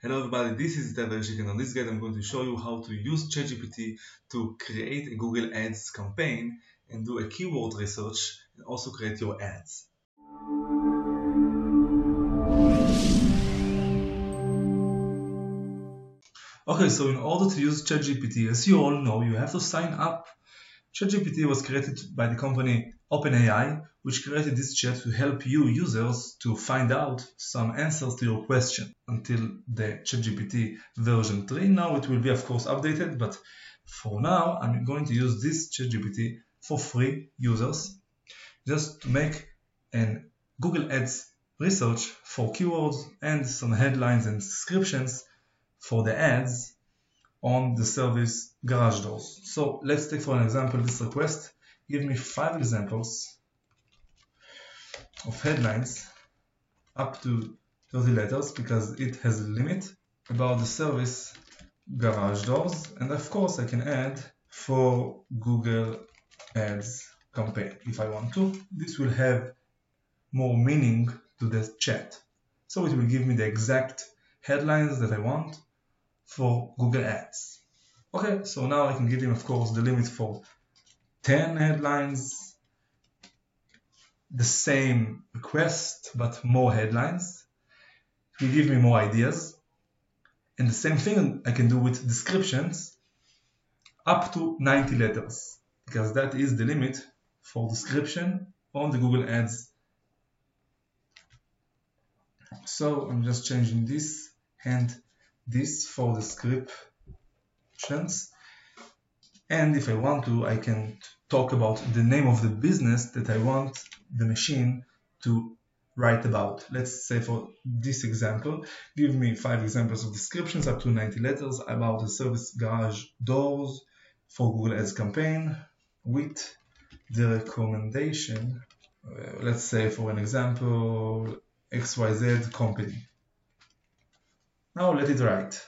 Hello everybody, this is Ted Vereshik, and on this guide I'm going to show you how to use ChatGPT to create a Google Ads campaign and do a keyword research and also create your ads. Okay, so in order to use ChatGPT, as you all know, you have to sign up. ChatGPT was created by the company OpenAI, which created this chat to help you users to find out some answers to your question until the ChatGPT version 3. Now it will be of course updated, but for now I'm going to use this ChatGPT for free users just to make a Google Ads research for keywords and some headlines and descriptions for the ads on the service Garage Doors. So let's take for an example this request. Give me 5 examples of headlines up to 30 letters because it has a limit about the service Garage Doors, and of course I can add for Google Ads campaign if I want to. This will have more meaning to the chat, so it will give me the exact headlines that I want for Google Ads. Okay, so now I can give him of course the limit for 10 headlines, the same request but more headlines. It will give me more ideas, and the same thing I can do with descriptions up to 90 letters because that is the limit for description on the Google Ads. So I'm just changing this and this for descriptions, and if I want to I can talk about the name of the business that I want the machine to write about. Let's say for this example, give me 5 examples of descriptions up to 90 letters about the service Garage Doors for Google Ads campaign with the recommendation, let's say for an example, XYZ company. Now let it write.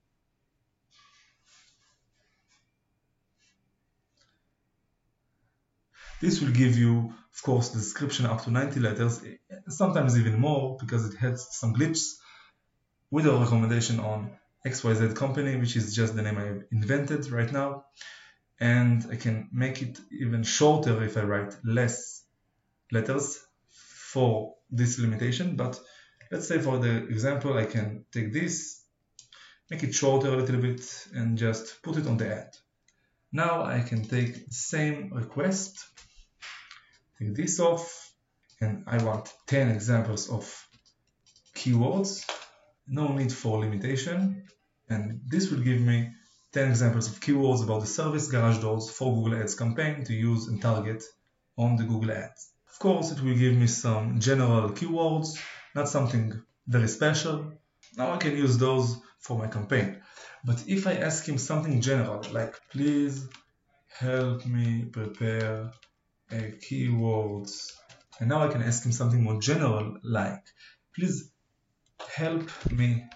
This will give you, of course, the description up to 90 letters, sometimes even more because it has some glitches, with a recommendation on XYZ company, which is just the name I invented right now. And I can make it even shorter if I write less letters for this limitation. But let's say for the example, I can take this, make it shorter a little bit, and just put it on the ad. Now I can take the same request, take this off, and I want 10 examples of keywords. No need for limitation, and this will give me 10 examples of keywords about the service Garage Doors for Google Ads campaign to use and target on the Google Ads. Of course, it will give me some general keywords, not something very special. Now I can use those for my campaign. But if I ask him something general, like please help me prepare a keywords, and now I can ask him something more general, like please help me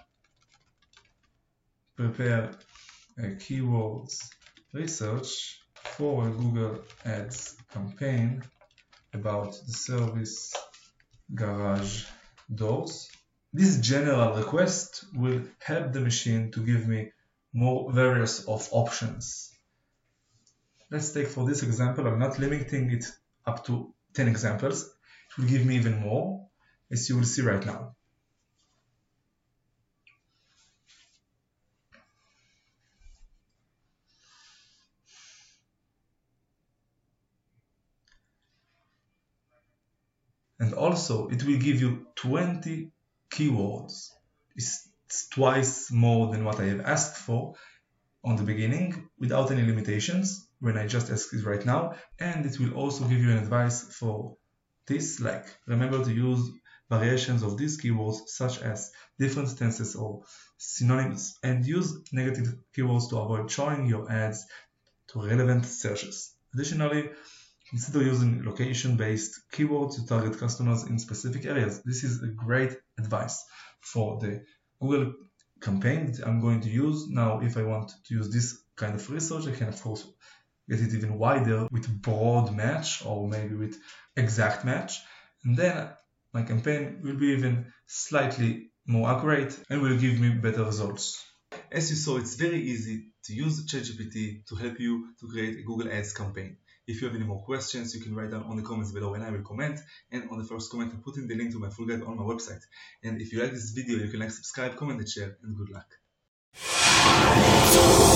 prepare a keywords research for a Google Ads campaign about the service Garage Doors. This general request will help the machine to give me more various of options. Let's take for this example, I'm not limiting it up to 10 examples. It will give me even more, as you will see right now. And also it will give you 20 keywords. It's twice more than what I have asked for on the beginning without any limitations when I just ask it right now. And it will also give you an advice for this, like remember to use variations of these keywords such as different tenses or synonyms, and use negative keywords to avoid showing your ads to relevant searches. Additionally, consider using location-based keywords to target customers in specific areas. This is a great advice for the Google campaign that I'm going to use. Now, if I want to use this kind of research, I can of course get it even wider with broad match or maybe with exact match. And then my campaign will be even slightly more accurate, and will give me better results. As you saw, it's very easy to use ChatGPT to help you to create a Google Ads campaign. If you have any more questions, you can write down on the comments below and I will comment. And on the first comment, I'm putting the link to my full guide on my website. And if you like this video, you can like, subscribe, comment, and share, and good luck.